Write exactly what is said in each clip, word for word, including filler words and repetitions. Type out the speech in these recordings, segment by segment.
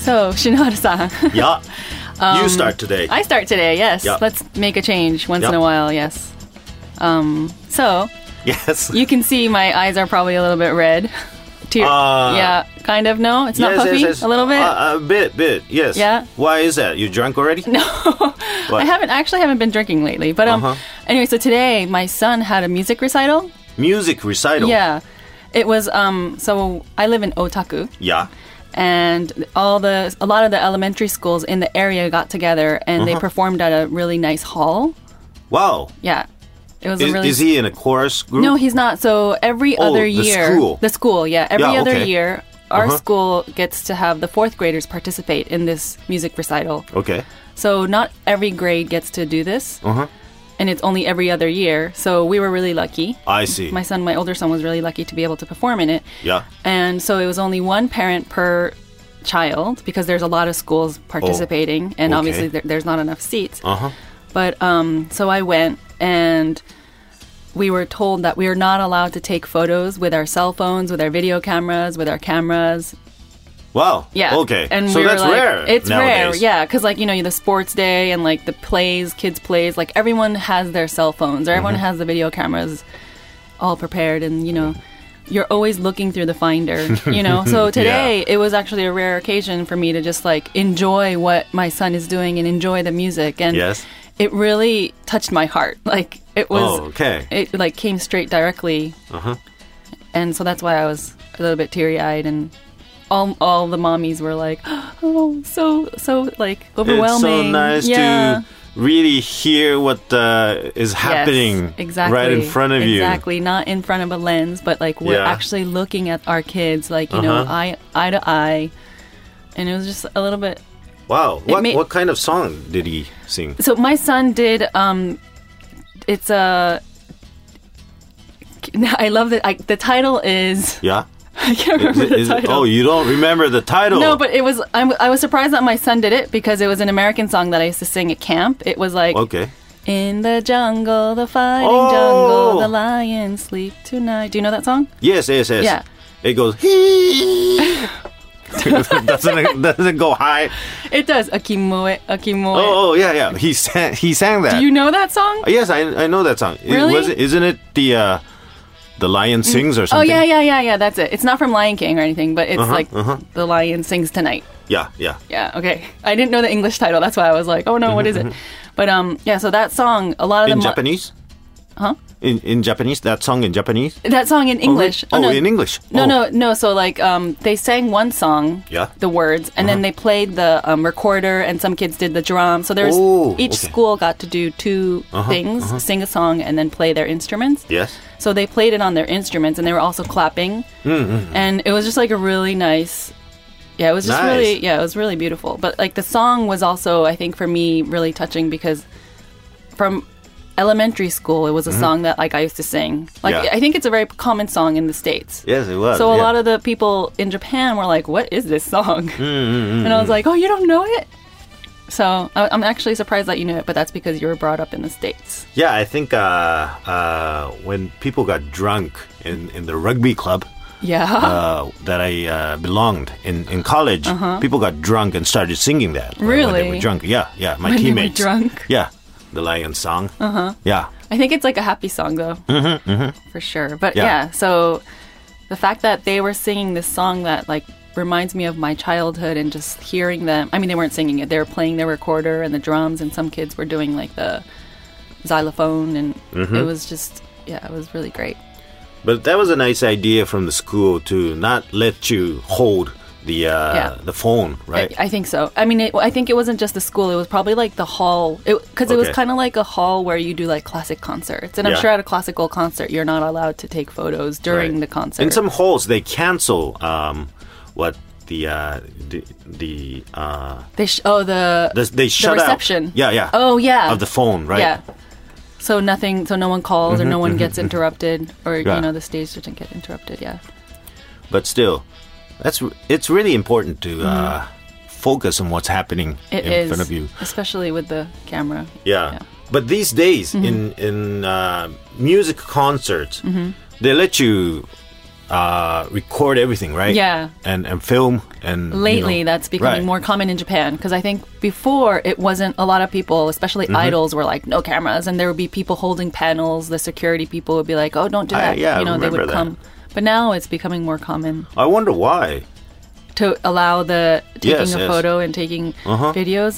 So, Shinohara-san. Yeah. Um, you start today. I start today, yes. Yeah. Let's make a change once Yeah. in a while, yes. Um, so, Yes. you can see my eyes are probably a little bit red. Tear- Uh, yeah, kind of, no? It's not Yes, puffy? yes, yes. A little bit? Uh, a bit, bit, yes. Yeah? Why is that? You drunk already? No. What? I haven't, actually haven't been drinking lately. But um, Uh-huh. anyway, so today my son had a music recital. Music recital. Yeah. It was, um, so I live in Otaku. Yeah. And all the a lot of the elementary schools in the area got together and Uh-huh. they performed at a really nice hall. Wow. Yeah, it was Is, a really. is he in a chorus group? No, he's not. So every Oh, other the year, school. the school, yeah, every Yeah, other okay. year, our Uh-huh. school gets to have the fourth graders participate in this music recital. Okay. So not every grade gets to do this, Uh-huh. and it's only every other year. So we were really lucky. I see. My son, my older son, was really lucky to be able to perform in it. Yeah. And so it was only one parent per child because there's a lot of schools participating, and okay. obviously there, there's not enough seats. Uh-huh. But um, so I went, and we were told that we are not allowed to take photos with our cell phones, with our video cameras, with our cameras. Wow. Yeah. Okay. And so we were that's like, rare. It's rare, nowadays. yeah, because like you know the sports day and like the plays, kids plays, like everyone has their cell phones, or everyone Mm-hmm. has the video cameras all prepared, and you know. You're always looking through the finder, you know? So today, Yeah. it was actually a rare occasion for me to just, like, enjoy what my son is doing and enjoy the music. And Yes. it really touched my heart. Like, it was... Oh, okay. It, like, came straight directly. Uh-huh. And so that's why I was a little bit teary-eyed. And all all the mommies were like, oh, so, so, like, overwhelming. It's so nice yeah. to really hear what uh, is happening Yes, exactly. right in front of you. Exactly, not in front of a lens, but like we're Yeah. actually looking at our kids, like you know, Uh-huh. eye eye to eye, and it was just a little bit. Wow. What made- what kind of song did he sing? So my son did. Um, it's a. I love that. I, the title is. Yeah. I can't Is remember it- the is it- title. oh, you don't remember the title? No, but it was. I'm, I was surprised that my son did it because it was an American song that I used to sing at camp. It was like. Okay. In the jungle, the fighting Oh! jungle, the lions sleep tonight. Do you know that song? Yes, yes, yes. Yeah. It goes hee. doesn't it, doesn't it go high? It does. Akimoe, Akimoe. Oh, oh, yeah, yeah. He sang. He sang that. Do you know that song? Yes, I I know that song. It- Really? was it, isn't it the uh, the lion sings or Oh something? yeah, yeah, yeah, yeah. That's it. It's not from Lion King or anything, but it's Uh-huh, like uh-huh. the lion sings tonight. yeah, yeah. Yeah. Okay. I didn't know the English title. That's why I was like, oh no, what is it? But um, yeah. So that song, a lot of In the mo- Japanese? Huh? In in Japanese? That song in Japanese? That song in English. Oh, no. in English. No, Oh. no, no. So like, um, they sang one song, Yeah. the words, and then they played the um, recorder, and some kids did the drum. So there's Oh, each okay. school got to do 2 Uh-huh, things: sing a song and then play their instruments. Yes. So they played it on their instruments, and they were also clapping, Mm-hmm. and it was just like a really nice. Yeah, it was just Nice. really, yeah, it was really beautiful. But like the song was also, I think, for me, really touching because from elementary school, it was a song that like I used to sing. Like Mm-hmm. Yeah. I think it's a very common song in the States. Yes, it was. So a yeah. lot of the people in Japan were like, "What is this song?" Mm-hmm. And I was like, "Oh, you don't know it?" So I- I'm actually surprised that you knew it, but that's because you were brought up in the States. Yeah, I think uh, uh, when people got drunk in, in the rugby club Yeah. uh, that I uh, belonged in, in college, people got drunk and started singing that. when- When they Uh-huh. Really? were drunk. Yeah, yeah. My When they were teammates. drunk? Yeah. The Lion song. Uh-huh. Yeah. I think it's like a happy song, though, mm-hmm, for sure. But Yeah. yeah. so the fact that they were singing this song that like reminds me of my childhood and just hearing them. I mean, they weren't singing it; they were playing their recorder and the drums, and some kids were doing like the xylophone, and Mm-hmm. it was just yeah, it was really great. But that was a nice idea from the school to not let you hold the uh, Yeah. the phone, right? I, I think so. I mean, it, I think it wasn't just the school; it was probably like the hall, because it, it was Okay. kind of like a hall where you do like classic concerts. And I'm Yeah. sure at a classical concert, you're not allowed to take photos during Right. the concert. In some halls, they cancel um, what the uh, the, the uh, They sh- oh the the- they shut out. reception. Yeah, yeah. Oh yeah. of the phone, right? Yeah. So nothing. So no one calls or no one gets interrupted, or Yeah. you know the stage doesn't get interrupted. Yeah. But still, that's r- it's really important to uh, focus on what's happening Mm-hmm. It in is, front of you. especially with the camera. Yeah. Yeah. But these days Mm-hmm. in in uh, music concerts, Mm-hmm. they let you uh, record everything, right? Yeah. And and film and Lately, you know, that's becoming right. more common in Japan because I think before it wasn't a lot of people, especially Mm-hmm. idols, were like no cameras, and there would be people holding panels. The security people would be like, "Oh, don't do I- that." yeah, I you know, they would remember that. come. But now it's becoming more common I wonder why. to allow the taking Yes, a yes. photo and taking Uh-huh. videos.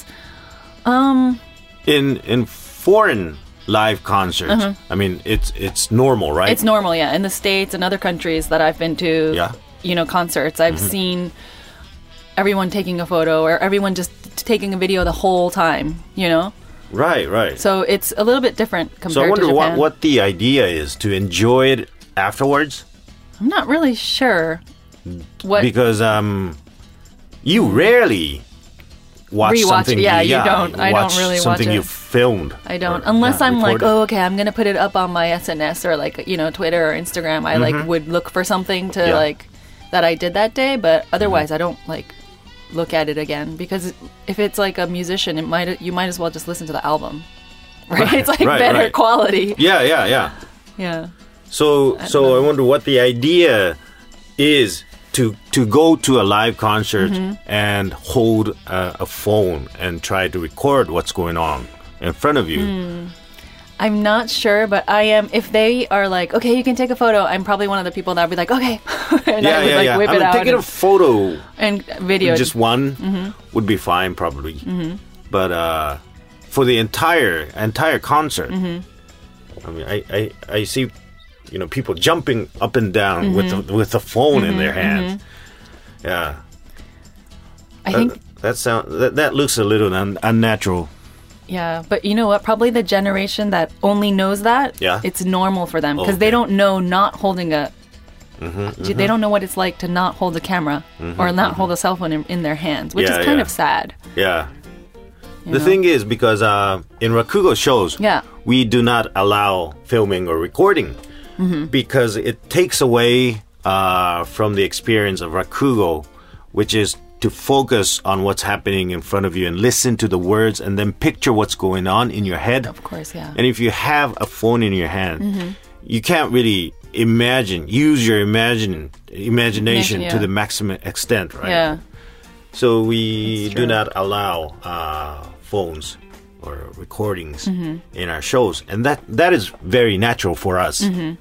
In in foreign live concerts, I mean, it's it's normal, right? Uh-huh. It's normal, yeah. In the States and other countries that I've been to, Yeah. you know, concerts, I've Mm-hmm. seen everyone taking a photo or everyone just t- taking a video the whole time, you know? right, right. So it's a little bit different compared So I wonder to what, Japan. what the idea is to enjoy it afterwards, I'm not really sure what because um, you rarely watch Rewatch- something. yeah, you don't. I don't watch really watch something it. you filmed. I don't or, unless yeah, I'm like, recorded. oh, okay, I'm gonna put it up on my S N S or like you know Twitter or Instagram. I like would look for something to Mm-hmm. Yeah. like that I did that day, but otherwise I don't like look at it again because if it's like a musician, it might you might as well just listen to the album, right? It's like right, better right. quality. Yeah, yeah, yeah. Yeah, So so I wonder what the idea is to to go to a live concert Mm-hmm. and hold a, a phone and try to record what's going on in front of you. Hmm. I'm not sure, but I am. If they are like, okay, you can take a photo, I'm probably one of the people that would be like, okay, and Yeah, I would yeah, like yeah. whip I it mean, out taking and, a photo, and video. just one, Mm-hmm. would be fine probably. But uh, for the entire entire concert, Mm-hmm. I mean, I, I, I see, you know, people jumping up and down Mm-hmm. with the, with the phone in their hands. Yeah. I think. that, that sound that, that looks a little un, unnatural. Yeah, but you know what? Probably the generation that only knows that, Yeah. it's normal for them because they Okay. don't know not holding a. Mm-hmm, They don't know what it's like to not hold a camera or not hold a cell phone in, in their hands, which Yeah, is kind yeah. of sad. Yeah. you The know? thing is, because uh, in Rakugo shows, Yeah. we do not allow filming or recording Mm-hmm. because it takes away uh, from the experience of Rakugo, which is to focus on what's happening in front of you and listen to the words and then picture what's going on in your head. Of course, yeah. And if you have a phone in your hand, Mm-hmm. you can't really imagine, use your imagine, imagination Yeah. to the maximum extent, right? Yeah. So we That's do true. not allow uh, phones or recordings Mm-hmm. in our shows, and that that is very natural for us. Mm-hmm.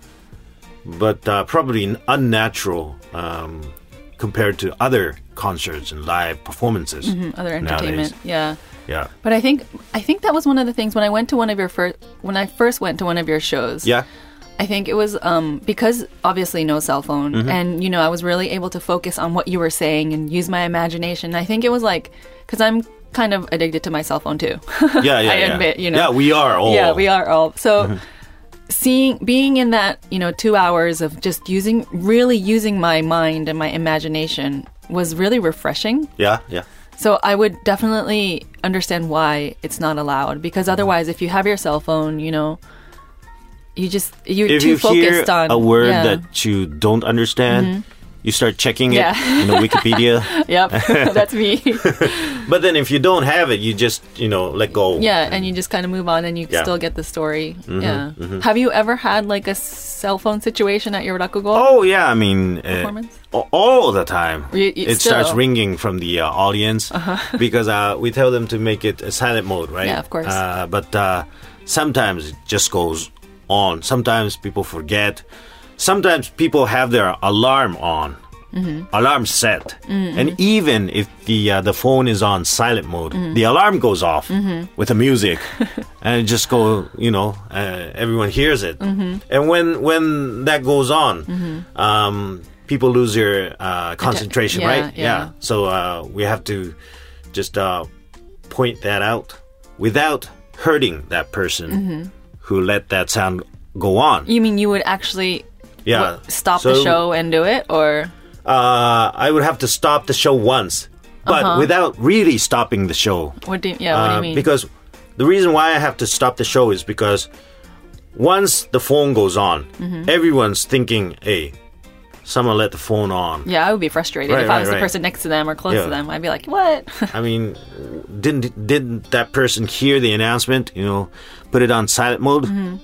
But uh, probably unnatural um, compared to other concerts and live performances. Mm, Other entertainment, nowadays. yeah. Yeah, But I think I think that was one of the things when I went to one of your first when I first went to one of your shows. yeah, I think it was um, because obviously no cell phone, Mm-hmm. and you know I was really able to focus on what you were saying and use my imagination. I think it was like because I'm kind of addicted to my cell phone too. yeah, yeah. I yeah. admit, you know. Yeah, we are all. Yeah, we are all. So Mm-hmm. seeing being in that, you know, two hours of just using really using my mind and my imagination was really refreshing. Yeah, yeah. So I would definitely understand why it's not allowed because otherwise if you have your cell phone, you know, you just you're If too you hear focused on a word yeah. that you don't understand, you start checking it Yeah. in the Wikipedia. Yep, that's me. But then if you don't have it, you just, you know, let go. Yeah, and you just kind of move on and you Yeah. still get the story. yeah. Have you ever had like a cell phone situation at your rakugo? Oh, yeah. I mean, uh, Performance? a- all the time. You- you it still- starts ringing from the uh, audience because uh, we tell them to make it a silent mode, right? Yeah, of course. Uh, but uh, sometimes it just goes on. Sometimes people forget. Sometimes people have their alarm on. Mm-hmm. Alarm set, and even if the uh, the phone is on silent mode, Mm-hmm. the alarm goes off with the music, and it just go. You know, uh, everyone hears it, Mm-hmm. and when when that goes on, um, people lose their uh, concentration, yeah, right? yeah. So uh, we have to just uh, point that out without hurting that person Mm-hmm. who let that sound go on. You mean you would actually Yeah, what, stop the So, show and do it, or Uh, I would have to stop the show once, but Uh-huh. without really stopping the show. what do you, yeah? What do Uh, you mean? Because the reason why I have to stop the show is because once the phone goes on, Mm-hmm. everyone's thinking, "Hey, someone let the phone on." yeah, I would be frustrated Right, if I right, was the right. person next to them or close Yeah. to them. I'd be like, what? I mean, didn't didn't that person hear the announcement? You know, put it on silent mode.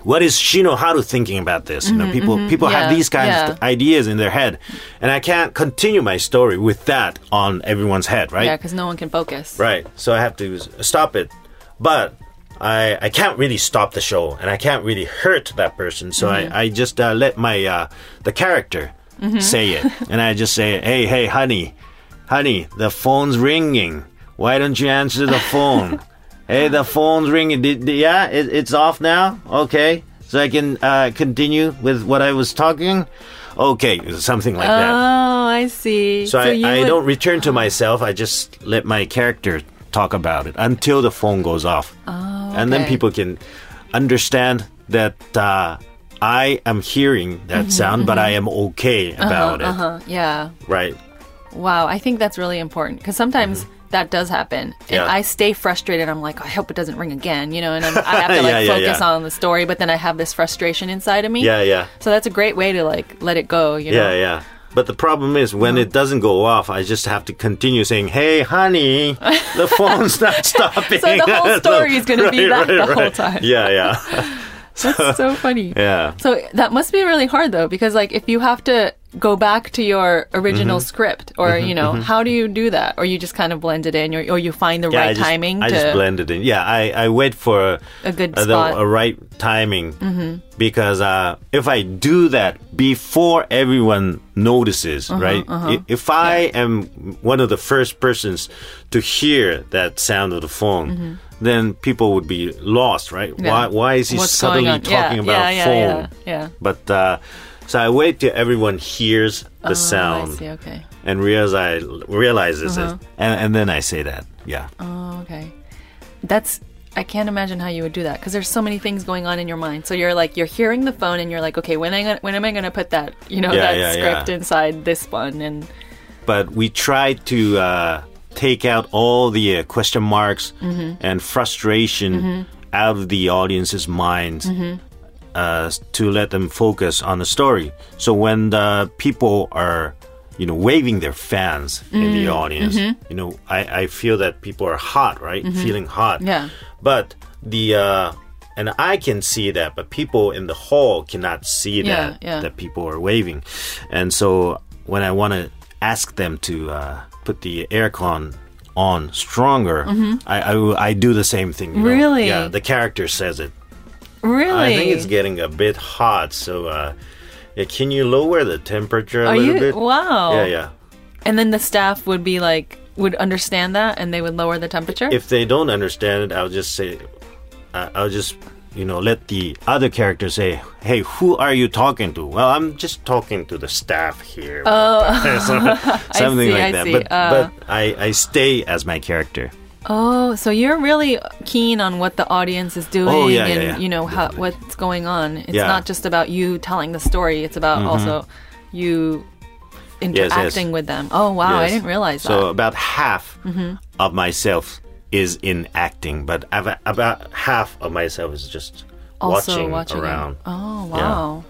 what is Shinoharu thinking about this? You know, Mm-hmm, people people yeah, have these kinds yeah. of ideas in their head, and I can't continue my story with that on everyone's head, right? Yeah, because no one can focus. Right. So I have to s- stop it, but I I can't really stop the show, and I can't really hurt that person. So Mm-hmm. I I just uh, let my uh, the character say it, and I just say, hey hey honey, honey, the phone's ringing. Why don't you answer the phone? Hey, the phone's ringing. Did, did- yeah, it, it's off now? Okay. So I can uh, continue with what I was talking? Okay, something like that. Oh, I see. So, I, you I would- don't return to myself. I just let my character talk about it until the phone goes off. Oh, And then okay. people can understand that uh, I am hearing that sound, but I am okay about Mm-hmm, Uh-huh, yeah. it. Right. Wow, I think that's really important because sometimes that does happen, and Mm-hmm. Yeah. I stay frustrated. I'm like, I hope it doesn't ring again, you know, and I'm, I have to like Yeah, yeah, focus yeah. on the story, but then I have this frustration inside of me. Yeah, yeah. So that's a great way to like let it go, you know. Yeah, yeah. But the problem is when Uh-huh. it doesn't go off, I just have to continue saying, "Hey, honey, the phone's not stopping." So the whole story is gonna be Right, that right, the whole right. time. Yeah, yeah, That's so funny. yeah. So that must be really hard though, because like if you have to go back to your original Mm-hmm. script, or you know, how do you do that, or you just kind of blend it in, or, or you find the Yeah, right I just, timing I to just blend it in. Yeah, I, I wait for a good uh, the, spot. a right timing because uh, if I do that before everyone notices, Uh-huh, right? I- If I am one of the first persons to hear that sound of the phone, then people would be lost, right? Mm-hmm. Yeah. Why Why is he What's suddenly going on? talking Yeah, about yeah, yeah, phone? yeah, yeah. But uh, so I wait till everyone hears the Oh, sound I see. Okay. and realize realizes Uh-huh. it, and, and then I say that. Yeah. Oh, okay. That's I can't imagine how you would do that because there's so many things going on in your mind. So you're like you're hearing the phone and you're like, okay, when I gonna, when am I going to put that you know Yeah, that yeah, script yeah. inside this one and But we try to uh, take out all the uh, question marks Mm-hmm. and frustration out of the audience's minds Mm-hmm. uh, to let them focus on the story. So when the people are, you know, waving their fans in Mm-hmm. the audience, you know, I, I feel that people are hot, right? Feeling hot. Mm-hmm. Yeah. But the uh, and I can see that, but people in the hall cannot see Yeah, that yeah. that people are waving, and so when I want to ask them to uh, put the aircon on stronger, I, I I do the same thing. you know? Mm-hmm. Really? Yeah, the character says it. really I think it's getting a bit hot, so uh, yeah, can you lower the temperature a are little you bit? wow Yeah, yeah. and then the staff would be like would understand that and they would lower the temperature. If they don't understand it, I'll just say, uh, I'll just, you know, let the other character say, "Hey, who are you talking to?" Well, I'm just talking to the staff here. Oh, something see, like I that. see. But Uh. but I I stay as my character. Oh, so you're really keen on what the audience is doing Oh, yeah, yeah, and yeah. you know how, what's going on. It's Yeah. not just about you telling the story; it's about also you interacting yes. with them. Oh, wow! I Yes. didn't realize So that. Mm-hmm. about half of myself is in acting, but ab- about half of myself is just Also watching, watching it. around. Oh, wow!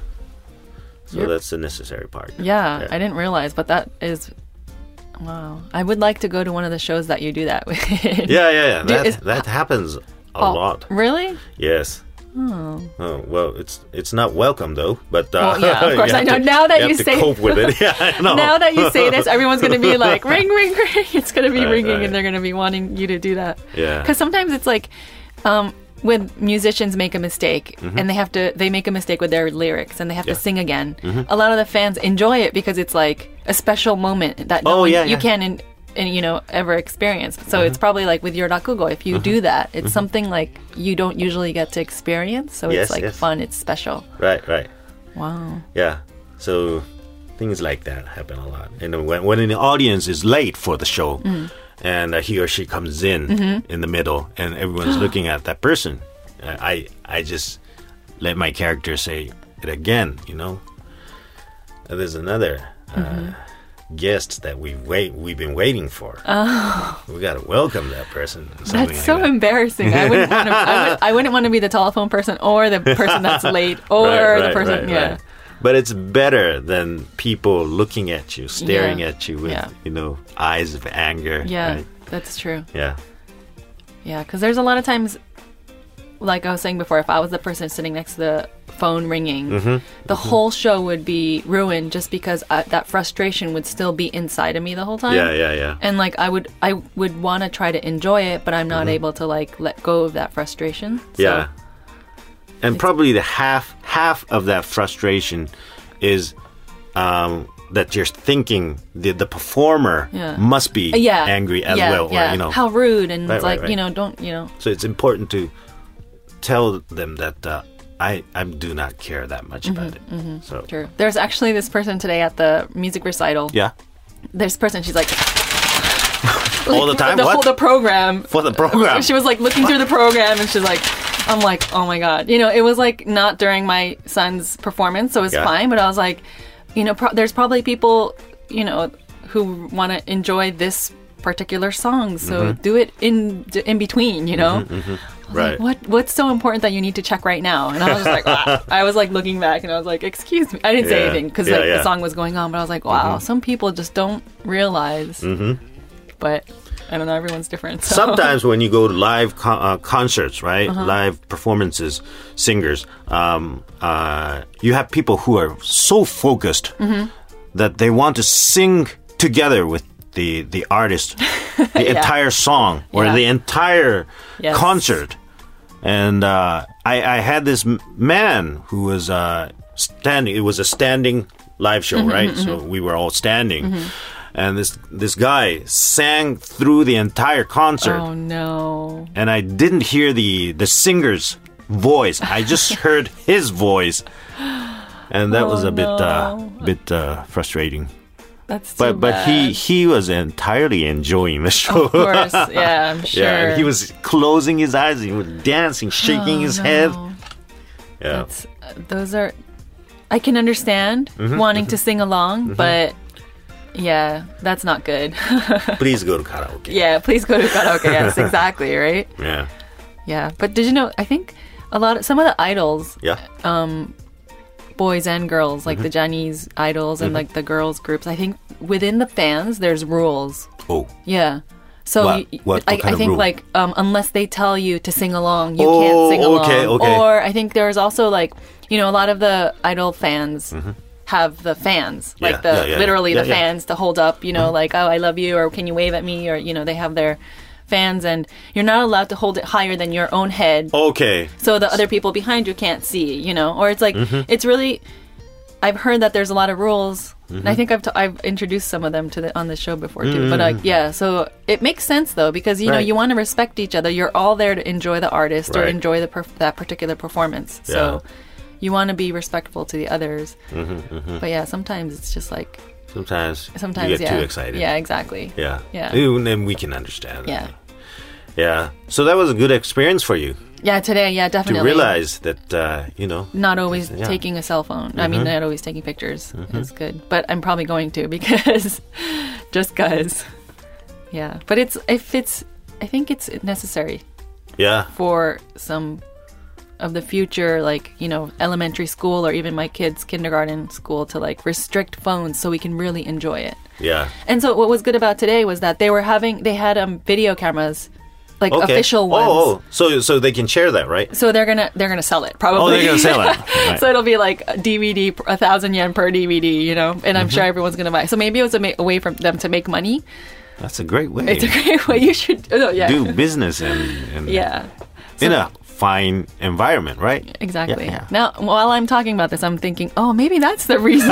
So You're- that's the necessary part. Yeah, Yeah. I didn't realize, but that is wow. I would like to go to one of the shows that you do that with. Yeah, yeah, yeah. Do- That, is- that happens a Oh, lot. Really? Yes. Oh. Well, it's it's not welcome though. But uh, Well, yeah, of you course, I have know. to- Now that you, you have say- to cope with it. Yeah, I know. Now that you say this, everyone's going to be like, ring, ring, ring. It's going to be Right, ringing right. and they're going to be wanting you to do that. Yeah. Because sometimes it's like, um, when musicians make a mistake Mm-hmm. and they have to, they make a mistake with their lyrics and they have Yeah. to sing again. Mm-hmm. A lot of the fans enjoy it because it's like a special moment that no Oh, one, yeah, you yeah. can, in, in, you know, ever experience. So Mm-hmm. it's probably like with your rakugo, if you do that, it's something like you don't usually get to experience. So Yes, it's like yes. fun. It's special. Right, right. Wow. Yeah. So things like that happen a lot. And when when the audience is late for the show, Mm. and uh, he or she comes in Mm-hmm. in the middle, and everyone's looking at that person, uh, I I just let my character say it again. You know, Uh, there's another. Uh, Mm-hmm. guest that we wait we've been waiting for. Oh. We gotta welcome that person. something That's like so that. embarrassing. I wouldn't want to. I, would, I wouldn't want to be the telephone person or the person that's late or Right, the right, person. right, yeah. right. But it's better than people looking at you, staring Yeah. at you with, Yeah. you know, eyes of anger. Yeah, right? that's true. Yeah. Yeah, because there's a lot of times like I was saying before, if I was the person sitting next to the phone ringing, Mm-hmm. the whole show would be ruined just because I, that frustration would still be inside of me the whole time. Yeah, yeah, yeah. And like I would, I would want to try to enjoy it, but I'm not able to like let go of that frustration. So, Yeah. And probably the half half of that frustration is um, that you're thinking the the performer Yeah. must be yeah, angry as yeah, well, yeah. or you know. how rude, and Right, it's right, like right. you know, don't you know? So it's important to tell them that uh, I I do not care that much about it. So True. There's actually this person today at the music recital. yeah, This person, she's like all the time. the What whole the program. for the program? She was like looking through the program, and she's like, I'm like, oh my god, you know, it was like not during my son's performance, so it was Yeah. fine. But I was like, you know, pro- there's probably people, you know, who want to enjoy this particular song, so Mm-hmm. do it in in between, you know. I was Right. Like, what what's so important that you need to check right now? And I was just like, ah. I was like looking back, and I was like, excuse me. I didn't say Yeah. anything because Yeah, like yeah. the song was going on, but I was like, wow, some people just don't realize. Mm-hmm. But I don't know, everyone's different. So. Sometimes when you go to live con- uh, concerts, right, Uh-huh. live performances, singers, um, uh, you have people who are so focused Mm-hmm. that they want to sing together with the the artist the entire song or Yeah. the entire Yes. concert. And uh, I, I had this m- man who was uh, standing. It was a standing live show, Mm-hmm, right? So we were all standing. And this this guy sang through the entire concert. Oh no. And I didn't hear the the singer's voice. I just heard his voice, and that Oh, was a bit uh, no. bit uh, frustrating. That's too But but he bad. he was entirely enjoying the show. Of course, yeah, I'm sure. Yeah, and he was closing his eyes. He was dancing, shaking Oh, his no. head. Yeah, That's, uh, those are, I can understand Mm-hmm, wanting to sing along, but yeah, that's not good. please go to karaoke. Yeah, please go to karaoke. Yes, exactly, right? Yeah, Yeah, but did you know? I think a lot of some of the idols, yeah. boys and girls, Mm-hmm. like the Chinese idols and like the girls groups. I think within the fans, there's rules. Oh, Yeah. So What- you- what- I, what kind I of think rule? like um, unless they tell you to sing along, you Oh, can't sing along. okay, okay. Or I think there's also like you know a lot of the idol fans have the fans like Yeah, the yeah, yeah, literally yeah, the yeah. Mm-hmm. fans to hold up. You know like oh I love you or can you wave at me or you know they have their fans and you're not allowed to hold it higher than your own head. okay. So the other people behind you can't see, you know, or it's like Mm-hmm. it's really. I've heard that there's a lot of rules. Mm-hmm. And I think I've t- I've introduced some of them to the on the show before too. But like yeah, so it makes sense though because you know Right. you want to respect each other. You're all there to enjoy the artist or Right. enjoy the perf- that particular performance. So you want to be respectful to the others. Mm-hmm, But yeah, sometimes it's just like Sometimes, sometimes you get yeah. too excited. Yeah, exactly. Yeah. Yeah. And then we can understand. Yeah. Yeah. So that was a good experience for you Yeah, today, yeah, to definitely. realize that, uh, you know, Not always Yeah. taking a cell phone. I Mm-hmm. mean, not always taking pictures is good. But I'm probably going to because just because. Yeah. But it's, if it's, I think it's necessary yeah. for some of the future, like, you know, elementary school or even my kids' kindergarten school to like restrict phones so we can really enjoy it. Yeah. And so what was good about today was that they were having, they had um, video cameras, like Okay. official ones. Oh, oh, so so they can share that, right? So they're gonna they're gonna sell it probably. Oh, they're gonna sell it. Right. So it'll be like a D V D, a thousand yen per D V D, you know, and Mm-hmm. I'm sure everyone's gonna buy. So maybe it was a, ma- a way for them to make money. That's a great way. It's a great way. You should, oh, yeah, do business in, in, yeah, in a fine environment, right? exactly. Yeah, yeah. Now, while I'm talking about this, I'm thinking, oh, maybe that's the reason.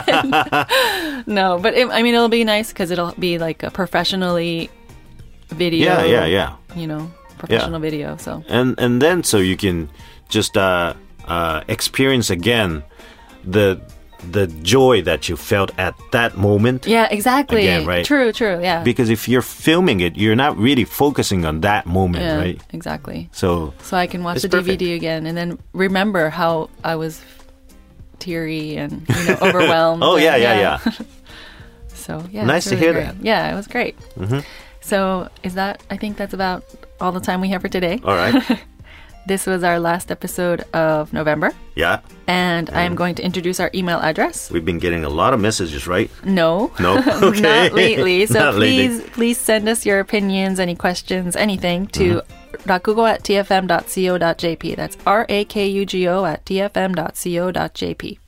No, but it, I mean, it'll be nice because it'll be like a professionally video. Yeah, yeah, yeah. You know, professional video. So And and then so you can just uh, uh, experience again the the joy that you felt at that moment. yeah, exactly. Again, right? True, true. Yeah. Because if you're filming it, you're not really focusing on that moment, yeah, right? exactly. So So I can watch It's the D V D again and then remember how I was teary and you know overwhelmed. oh and- yeah, yeah, yeah. So yeah, Nice it's to really hear great. that. Mm-hmm. Yeah, it was great. So is that? I think that's about all the time we have for today. All right. This was our last episode of November, Yeah. and I am Mm-hmm. going to introduce our email address. We've been getting a lot of messages, right? No, No? Okay. not lately. So Not lately. please, please send us your opinions, any questions, anything to Mm-hmm. rakugo at t f m dot co dot j p. That's R A K U G O at t f m dot co dot j p.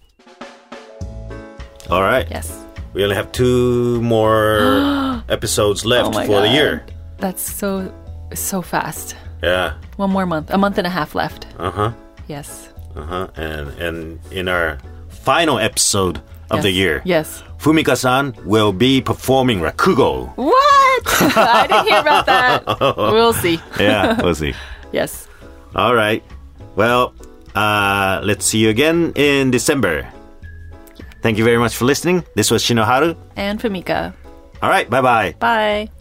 All right. Yes. We only have two more episodes left Oh my for the God. year. That's so, so fast. Yeah. One more month. A month and a half left. Uh-huh. Yes. Uh-huh. And and in our final episode of yes. the year, Yes. Fumika-san will be performing Rakugo. What? I didn't hear about that. We'll see. Yeah, we'll see. Yes. All right. Well, uh, let's see you again in December. Thank you very much for listening. This was Shinoharu. And Fumika. All right. Bye-bye. Bye.